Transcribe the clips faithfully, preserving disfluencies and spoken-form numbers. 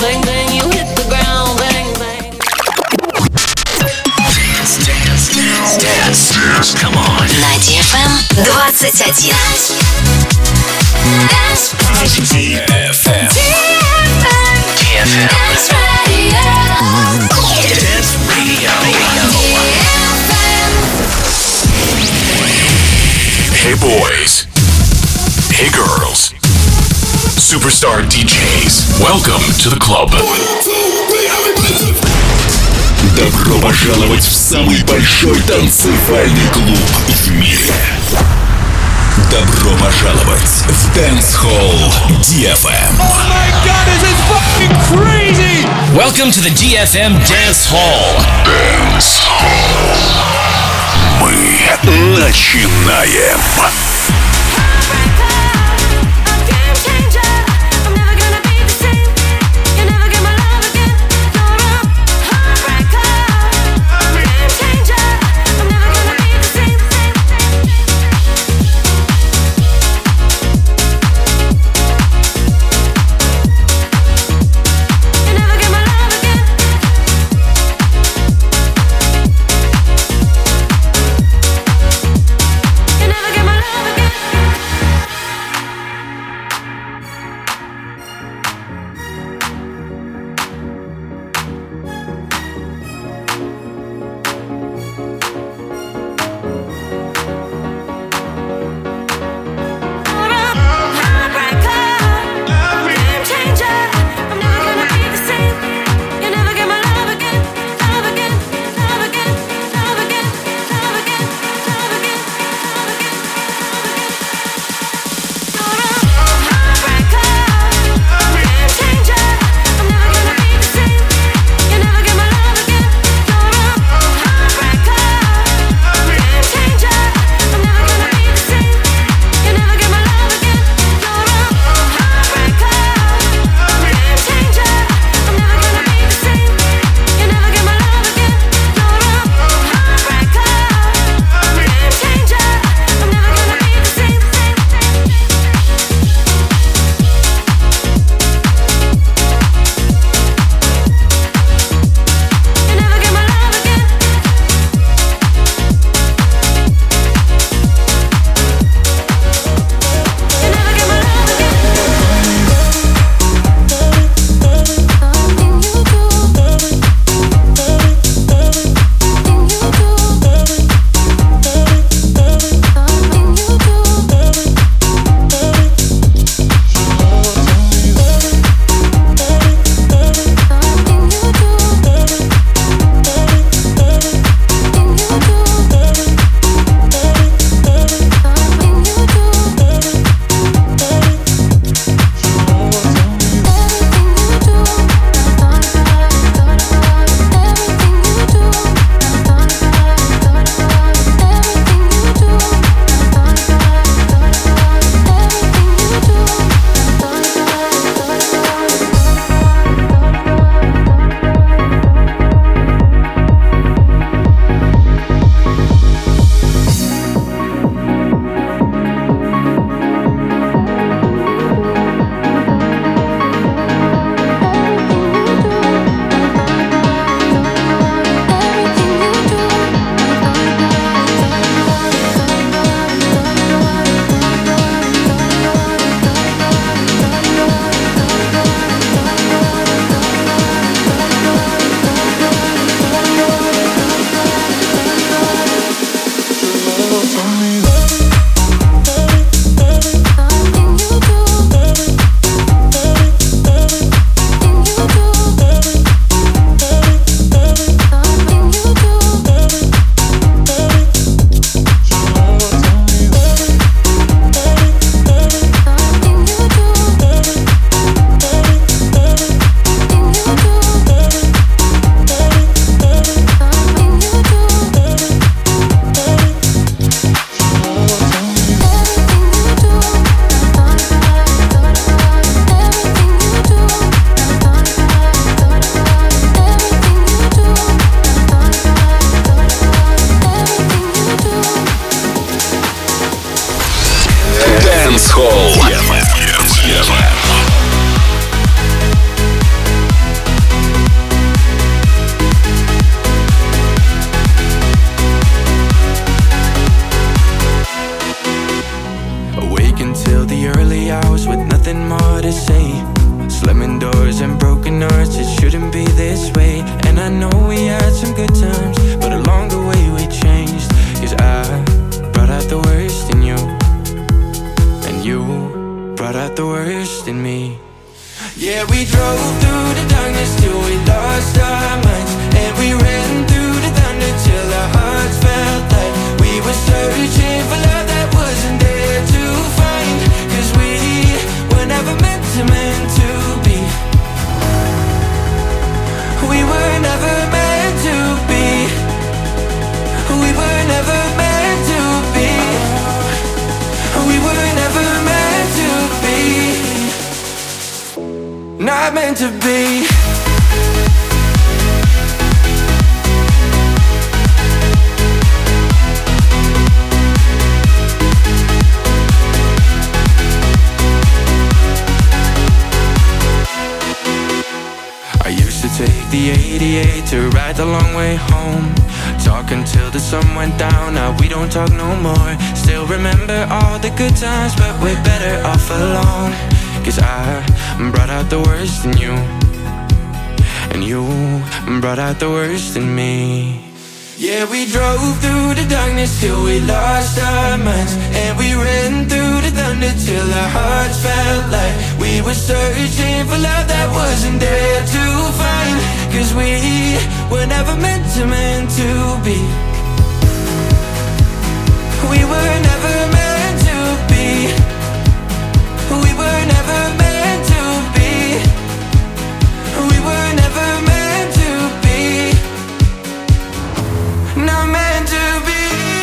bang bang, you hit the ground, bang bang. Dance, dance, dance, dance, dance, come on. На ди эф эм двадцать один. ди эф эм. ди эф эм. Dance Radio. Dance Radio. Hey boys. Hey girls. Superstar ди джейс. Welcome to the club. Добро пожаловать в самый большой танцевальный клуб в мире. Добро пожаловать в Dance Hall ди эф эм. Oh my god, this is fucking crazy! Welcome to the ди эф эм Dance Hall. Dance Hall. Мы начинаем. Never get my love again. scars and broken hearts, it shouldn't be this way. And I know we had some good times, but along the way we changed. Cause I brought out the worst in you, and you brought out the worst in me. Yeah, we drove through the darkness till we lost our minds, and we ran through the thunder till our hearts felt like we were searching for love that wasn't there to find. Cause we were never meant to, meant to be. We were never meant to be. We were never meant to be. We were never meant to be. Not meant to be. I used to take the eighty-eight to ride the long way home, talk until the sun went down. Now we don't talk no more. Still remember all the good times, but we're better off alone. Cause I brought out the worst in you, and you brought out the worst in me. Yeah, we drove through the darkness till we lost our minds, and we ran through the thunder till our hearts felt like we were searching for love that wasn't there to find. Cause we were never meant to, meant to be. We were never meant to be. We were never meant to be. We were never meant to be. Not meant to be.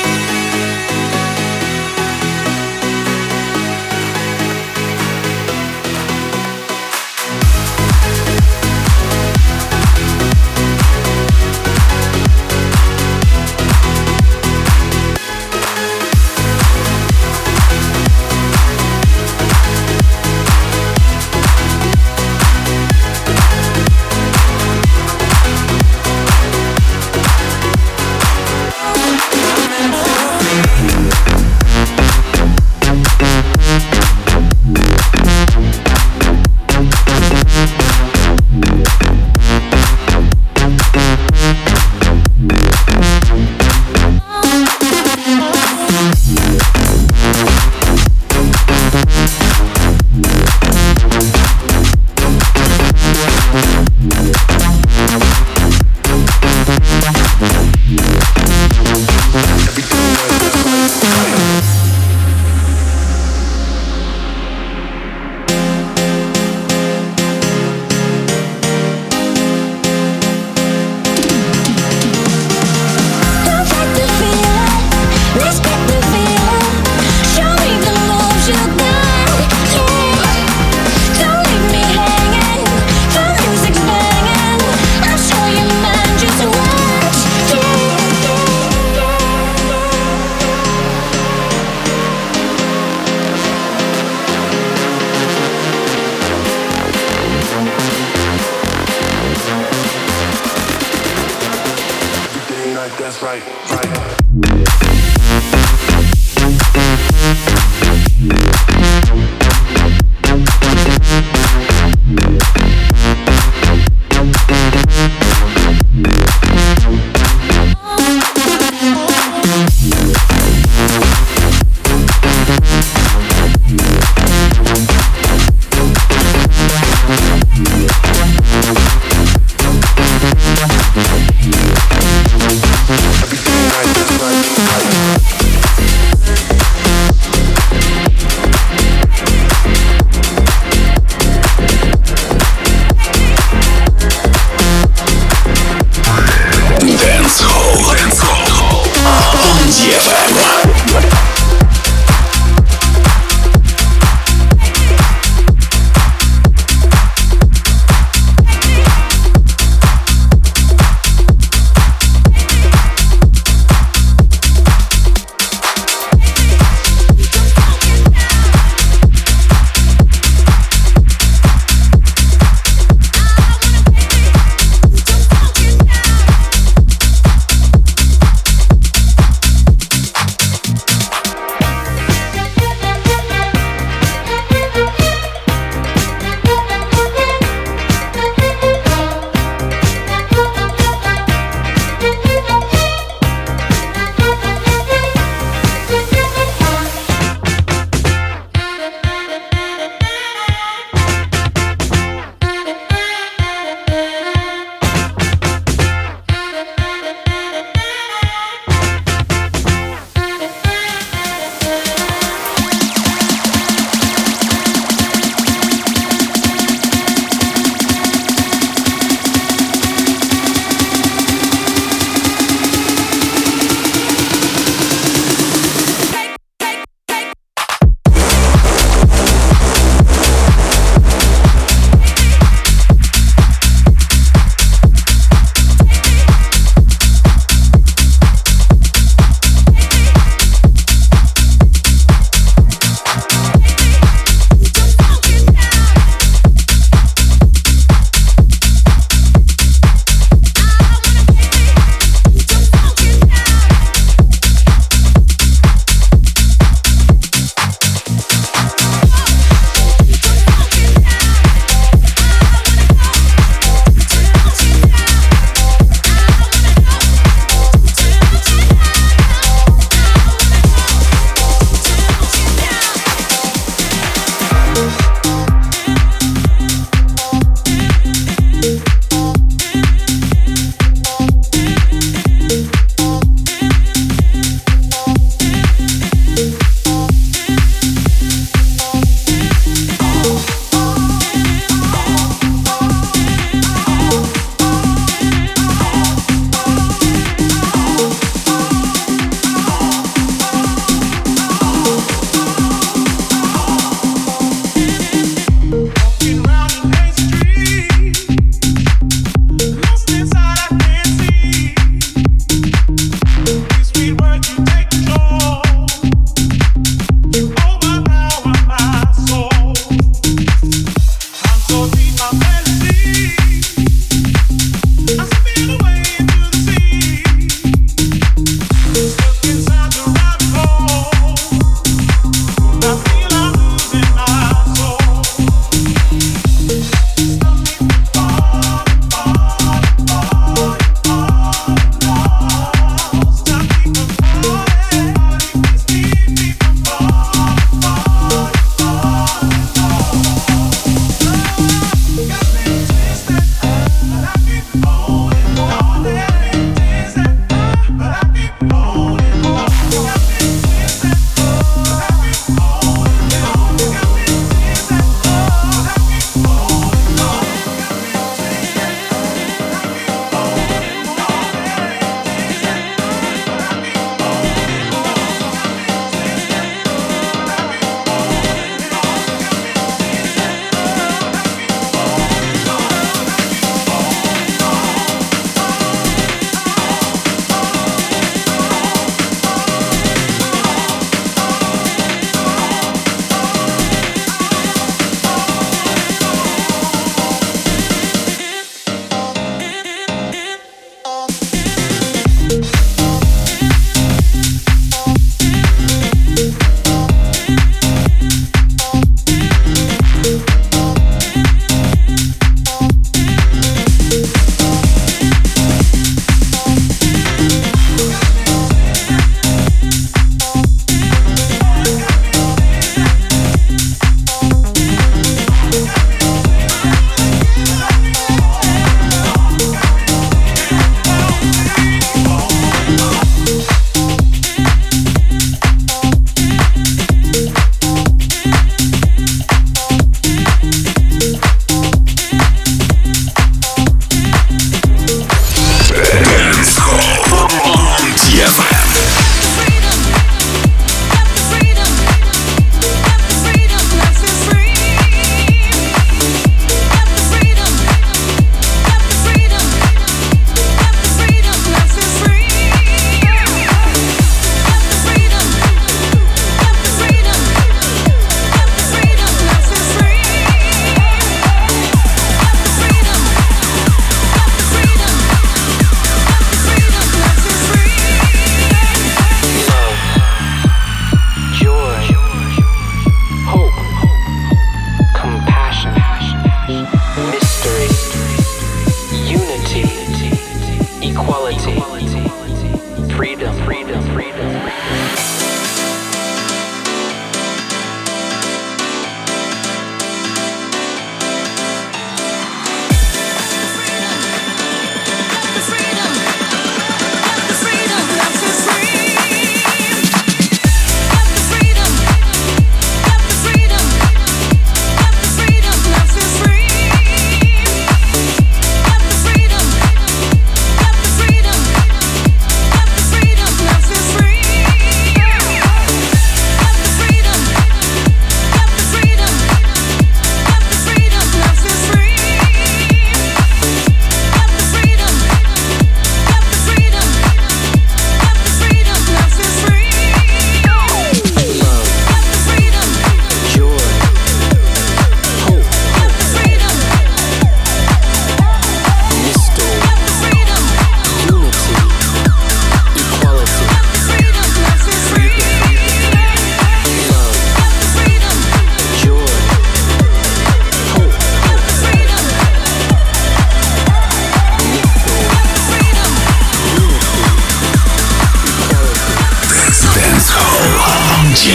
That's right, right. Everything right.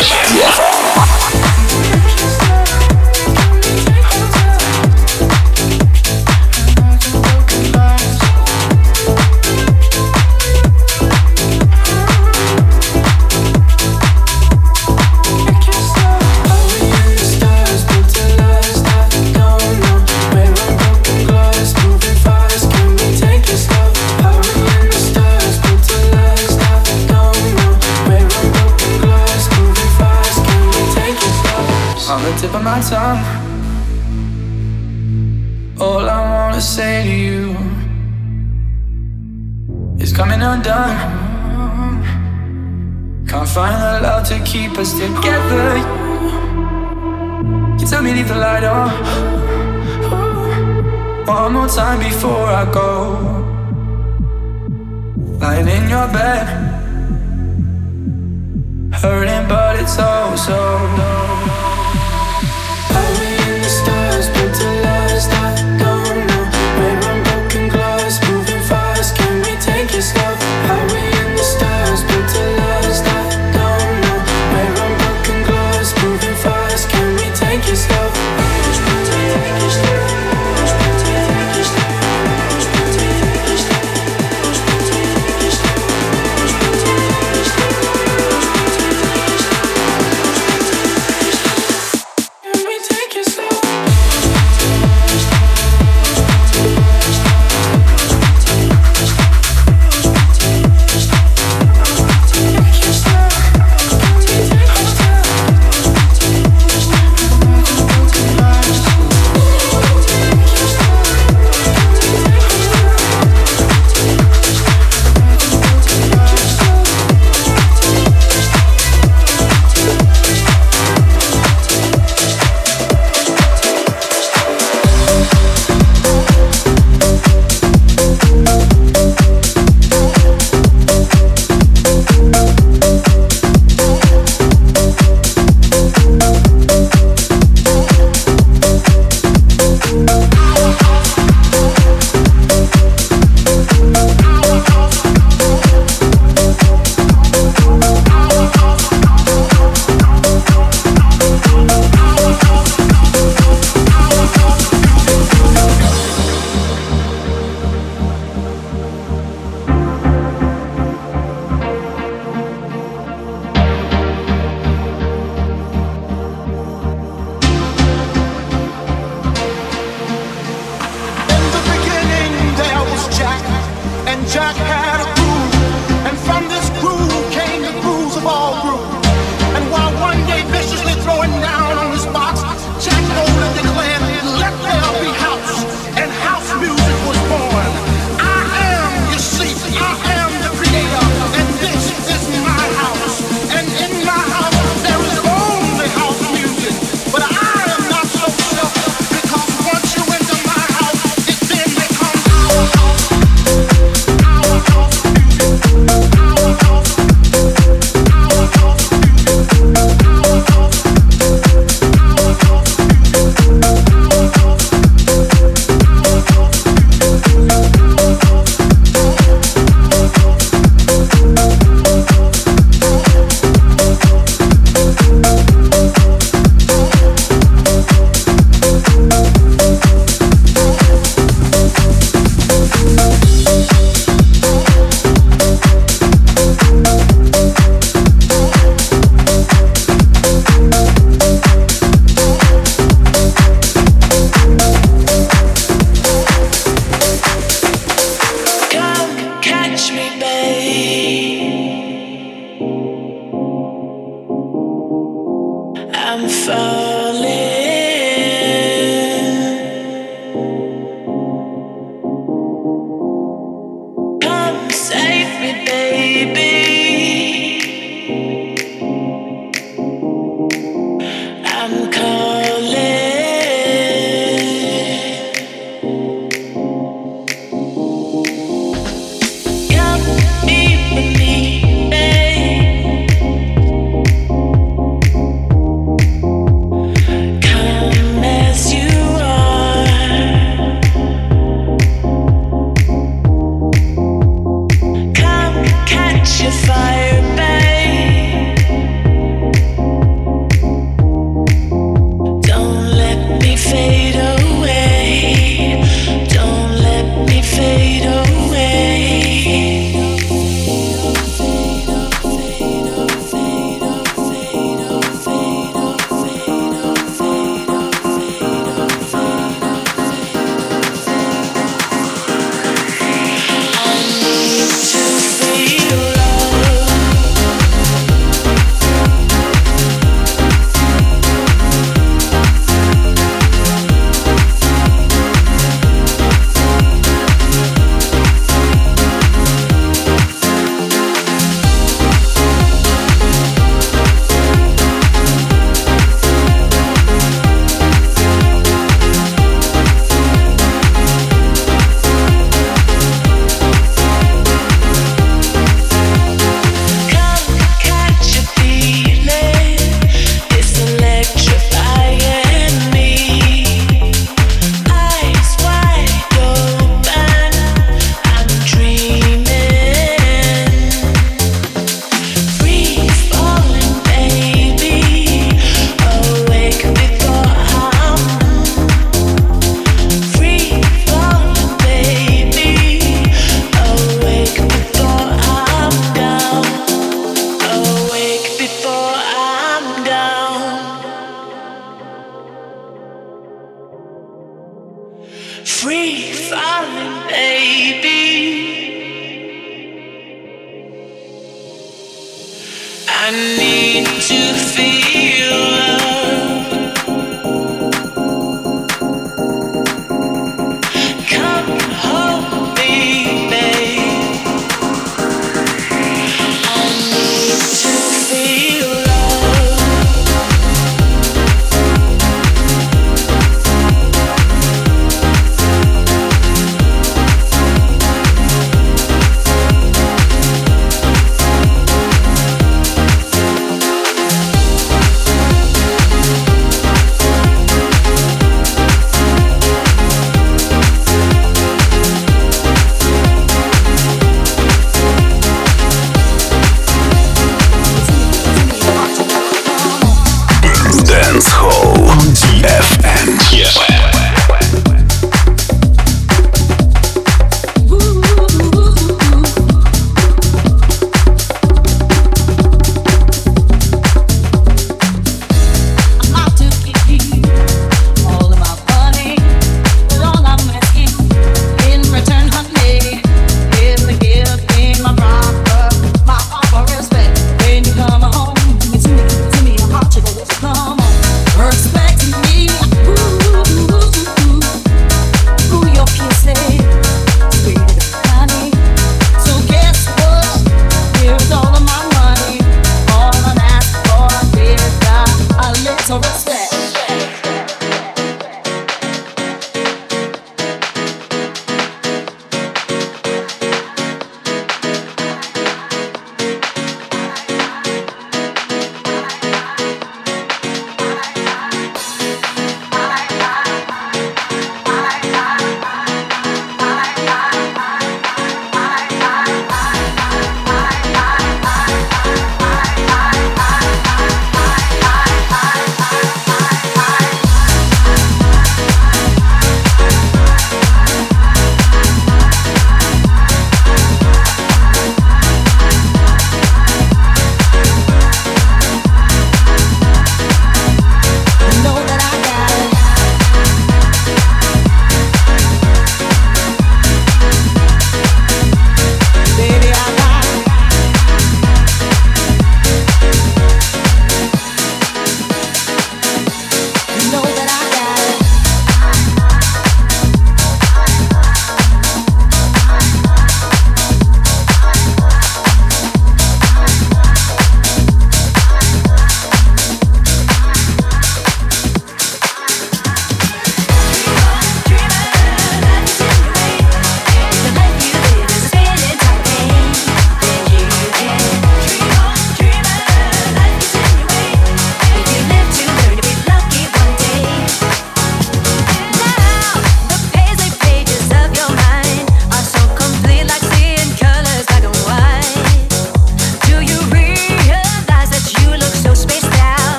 Tip of my tongue. All I wanna say to you is coming undone. Can't find the love to keep us together. You tell me leave the light on one more time before I go. Lying in your bed, hurting but it's oh so low. Catch falling, baby. I need to feel love. Come hold me, babe. I need to feel love.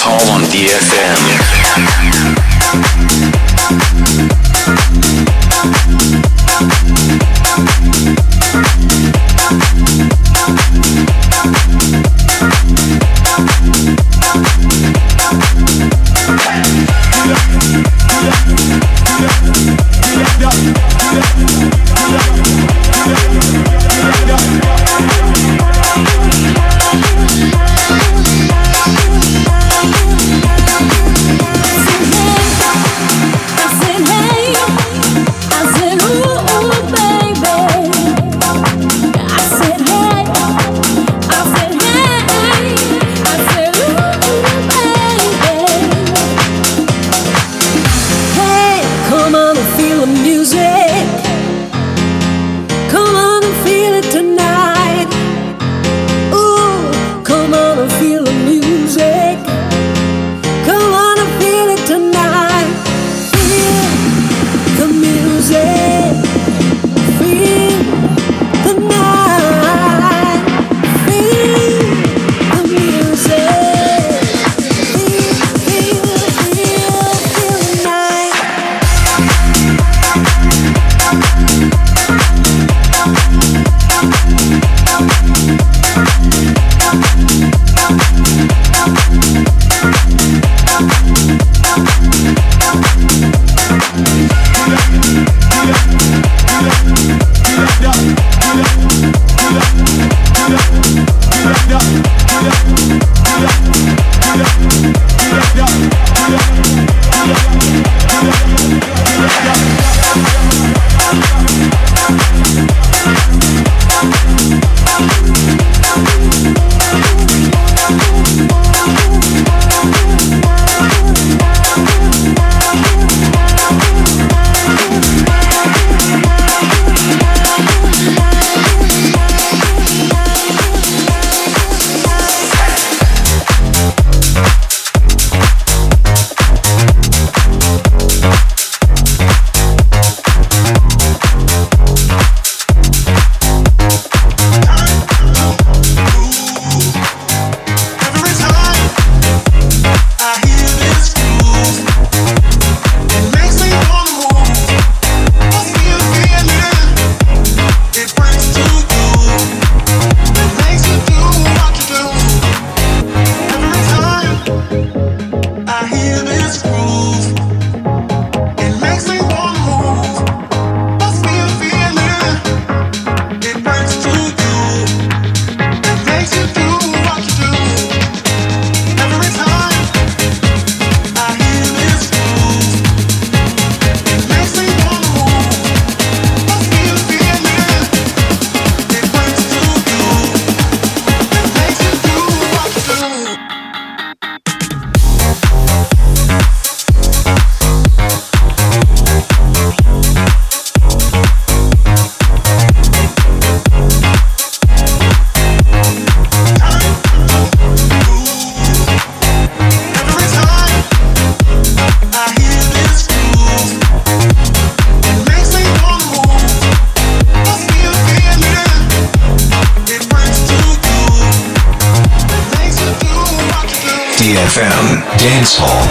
Hall on D F M. D F M Dance Hall.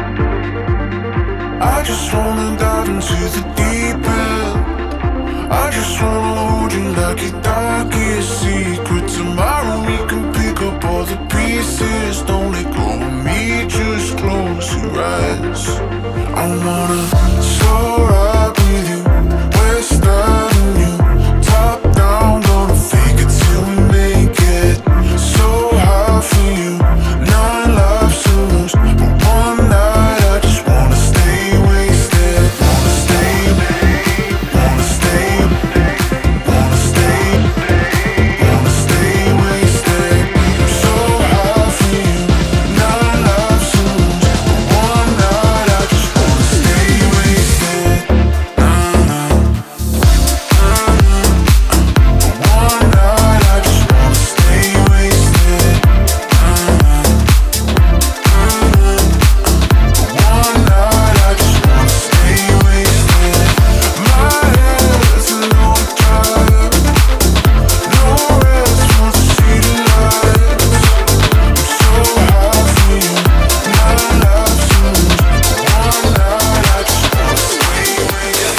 I just wanna dive into the deep end. I just wanna hold you like your darkest secret. Tomorrow we can pick up all the pieces. Don't let go of me, just close your eyes. I wanna slow ride with you, West Avenue, top down, gonna fake it till we make it. So high for you, nine lives to lose, but one night I just wanna stay wasted. Wanna stay, wanna stay, wanna stay, wanna stay wasted. So high for you, nine lives to lose, but one night I just wanna stay wasted. Nah, nah, nah, nah. But one night I just wanna stay wasted. Nah, nah, nah, nah. But one night I just wanna stay wasted. My head's a long drive, no rest once I see the lights. I'm so high for you, nine lives to lose, but one night I just wanna stay wasted.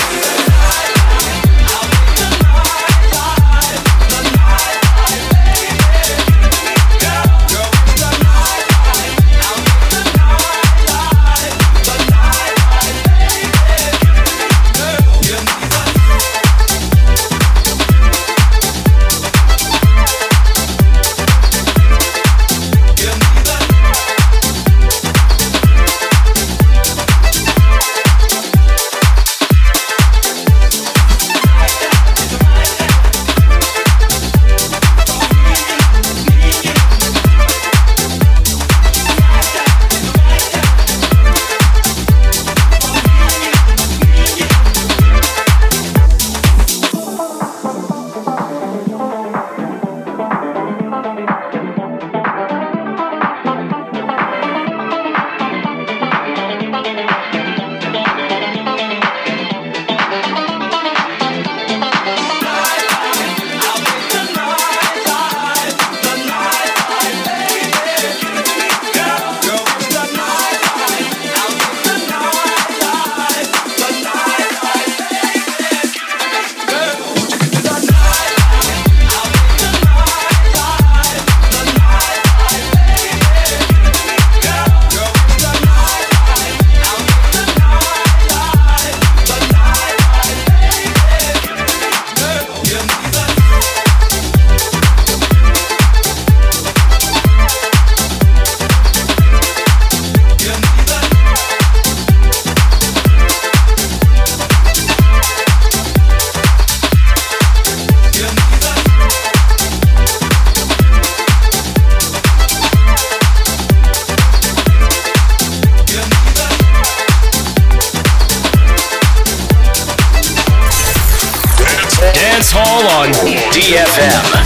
Dance Hall on D F M.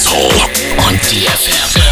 Dance Hall on ди эф эм.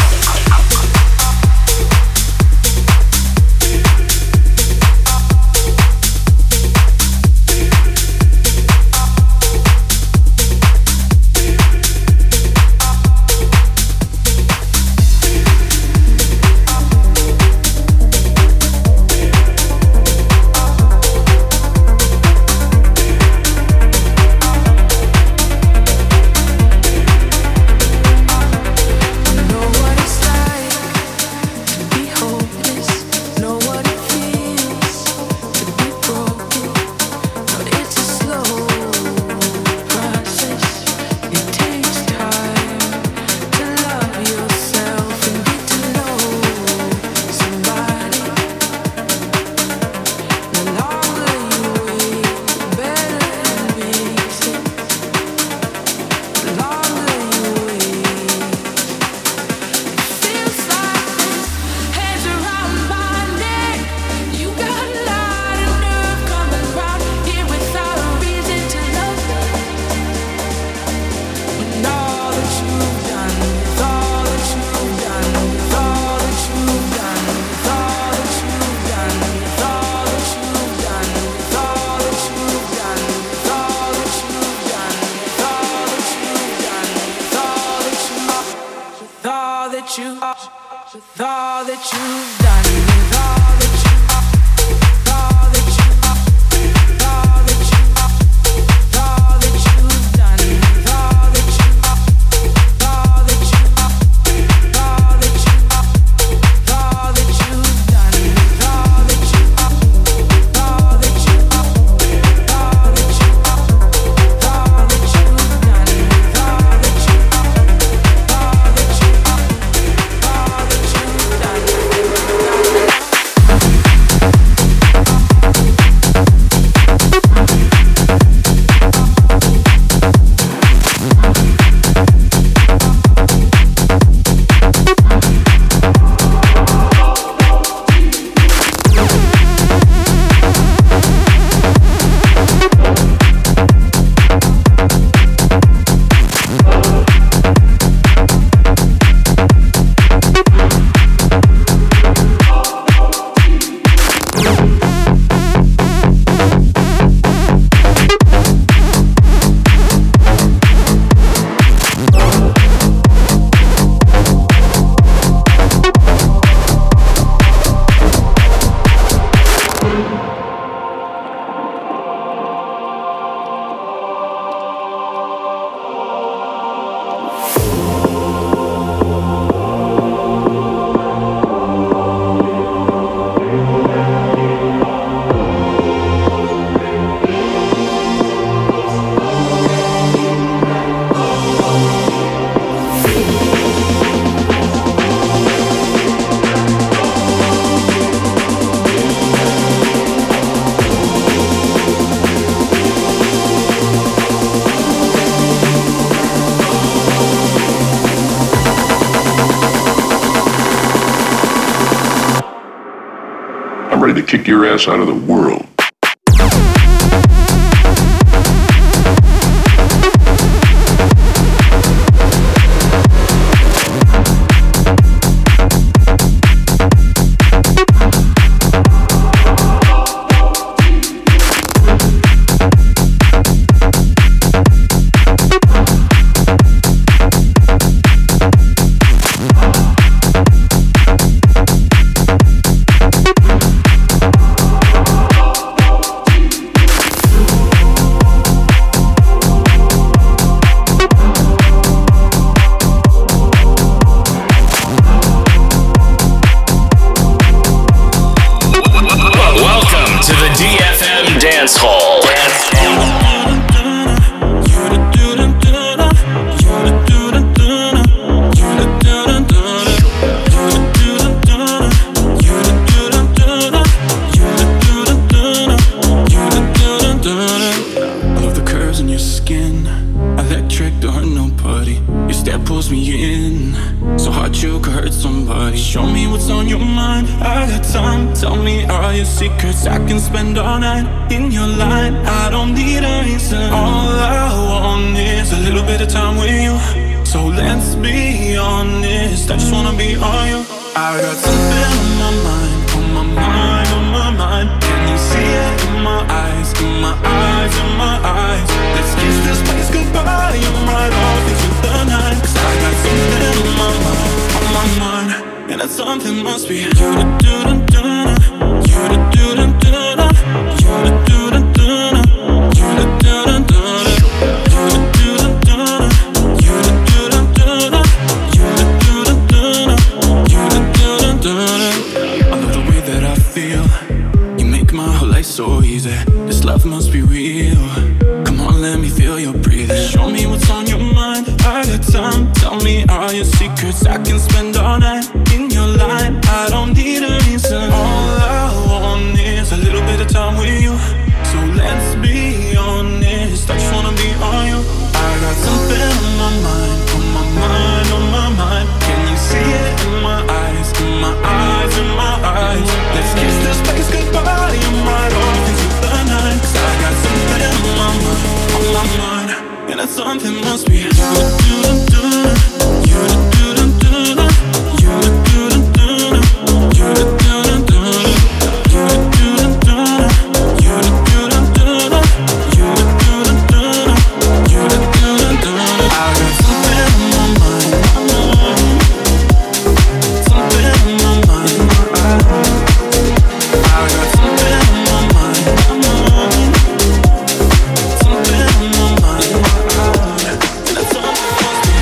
To kick your ass out of the world. Dance Hall. Pulls me in, so hard you could hurt somebody. Show me what's on your mind, I got time. Tell me all your secrets, I can spend all night in your line. I don't need a reason, all I want is a little bit of time with you. So let's be honest, I just wanna be all you. I got something on my mind, on my mind, on my mind. Can you see it in my eyes, in my eyes, in my eyes? Let's kiss this place goodbye, I'm right off into the night. Cause I got something on my mind, on my mind. And that something must be you to do to do, you to do to do, you to do to do, you to do to do, you to do to do, you to do to do, you to do to do, you to do to do. I love the way that I feel. You make my whole life so easy. This love must be real. Come on, let me feel your breathing. Show me what's on your mind. I got time. Tell me all your secrets. I can spend all night in your line. I don't need a reason. All I want is a little bit of time with you. So let's be honest, I just wanna be on you. I got something on my mind, on my mind, on my mind. Can you see it in my eyes, in my eyes, in my eyes? Let's kiss this place goodbye, I'm right off into the night. Cause I got something on my mind, on my mind. And that something must be you to do to do, you to do to do, you to do to do, you to do to do, you to do to do, you to do to do, you to do to do, you to do to do. I got something on my mind, something on my mind. I got something on my mind, something on my mind. And that's all it must be.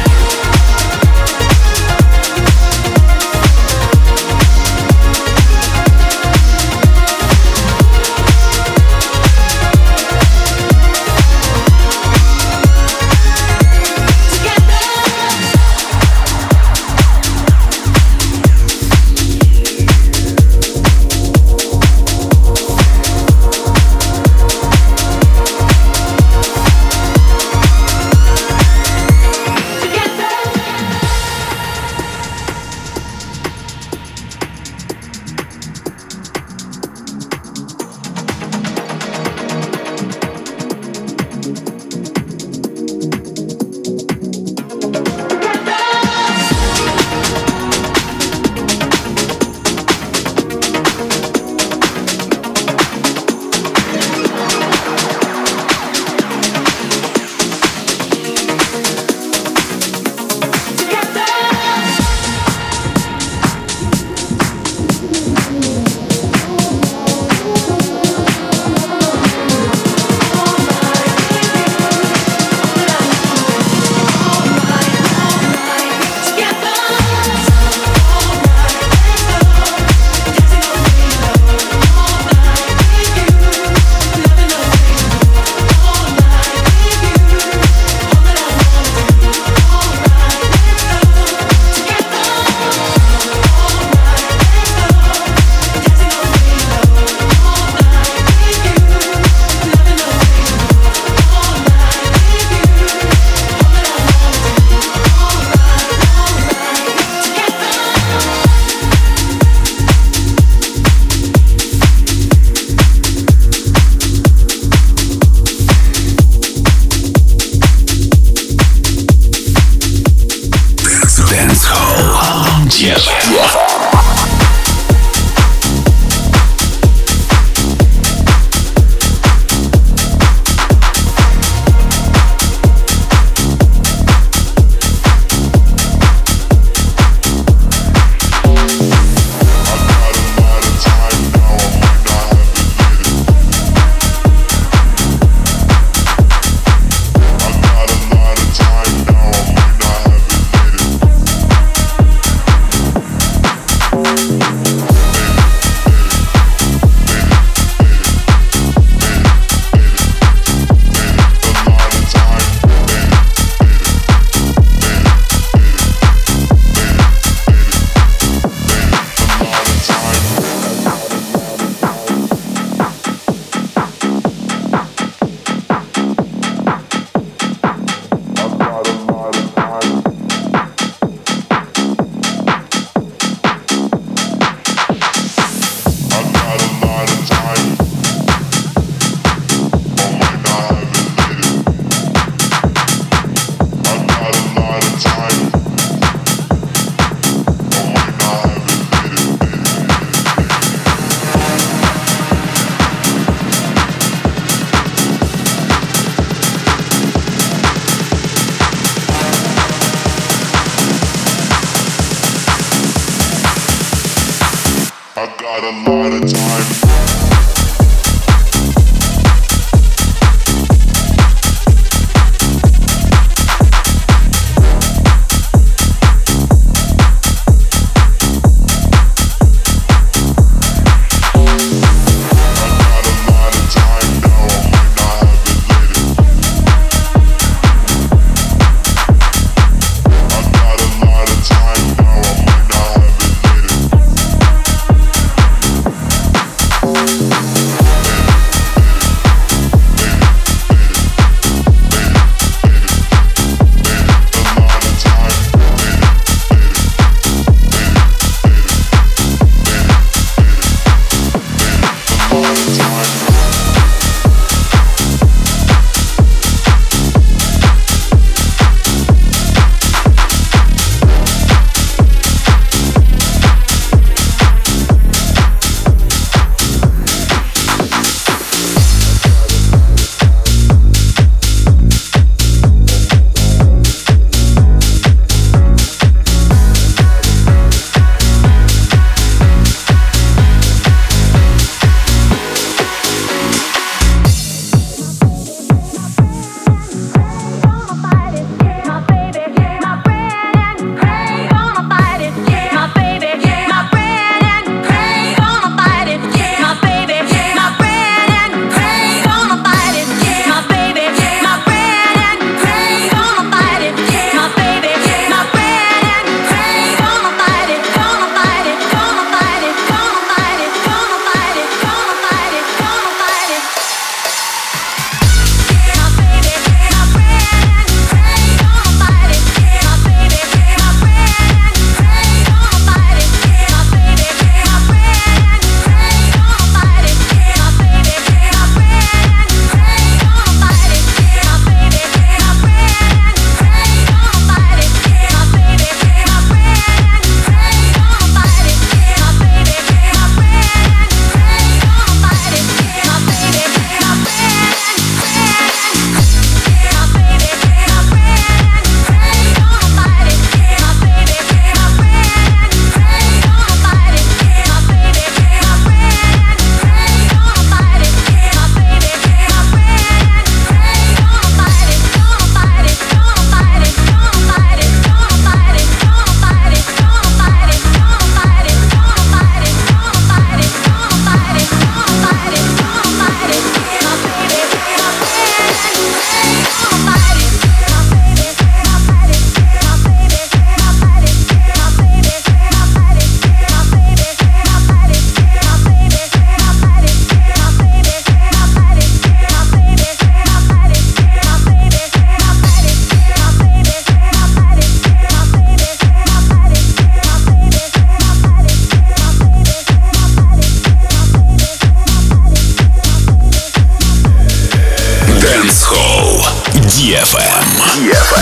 ди эф эм. ди эф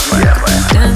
эм.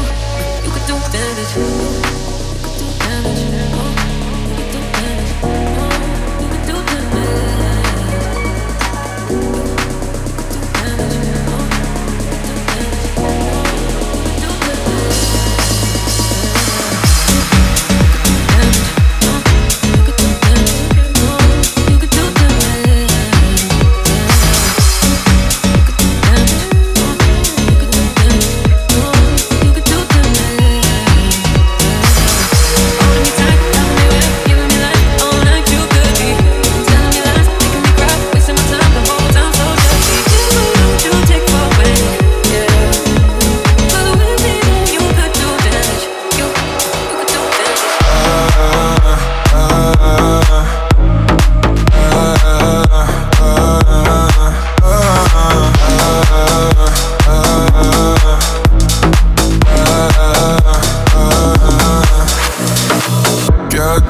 You could do damage. You could do damage. Oh, you could do damage.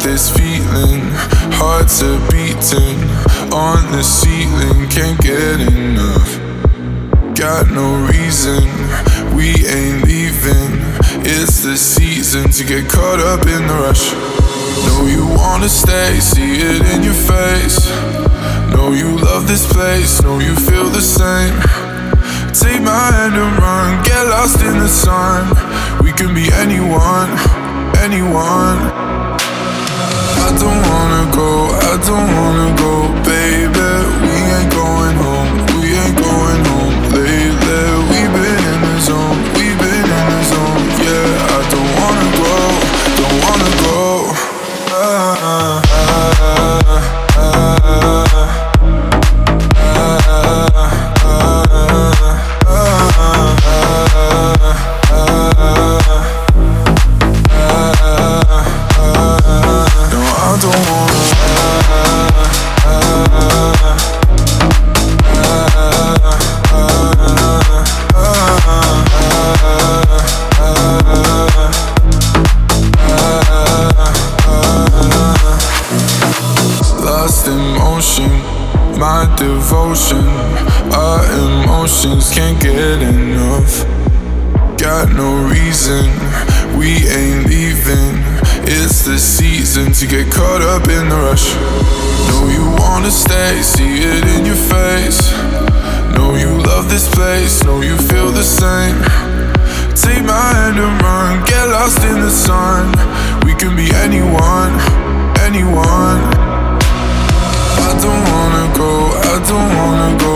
this feeling, hearts are beating on the ceiling, can't get enough. Got no reason, we ain't leaving. It's the season to get caught up in the rush. Know you wanna stay, see it in your face. Know you love this place, know you feel the same. Take my hand and run, get lost in the sun. We can be anyone, anyone. I don't wanna go, I don't wanna go, baby. We ain't going home, we ain't going home lately. We've been in the zone, we've been in the zone. Yeah, I don't wanna go, don't wanna go. Ah, ah, ah, ah, my devotion, our emotions can't get enough. Got no reason, we ain't leaving. It's the season to get caught up in the rush. Know you wanna stay, see it in your face. Know you love this place, know you feel the same. Take my hand and run, get lost in the sun. We can be anyone, anyone. I don't wanna go, I don't wanna go,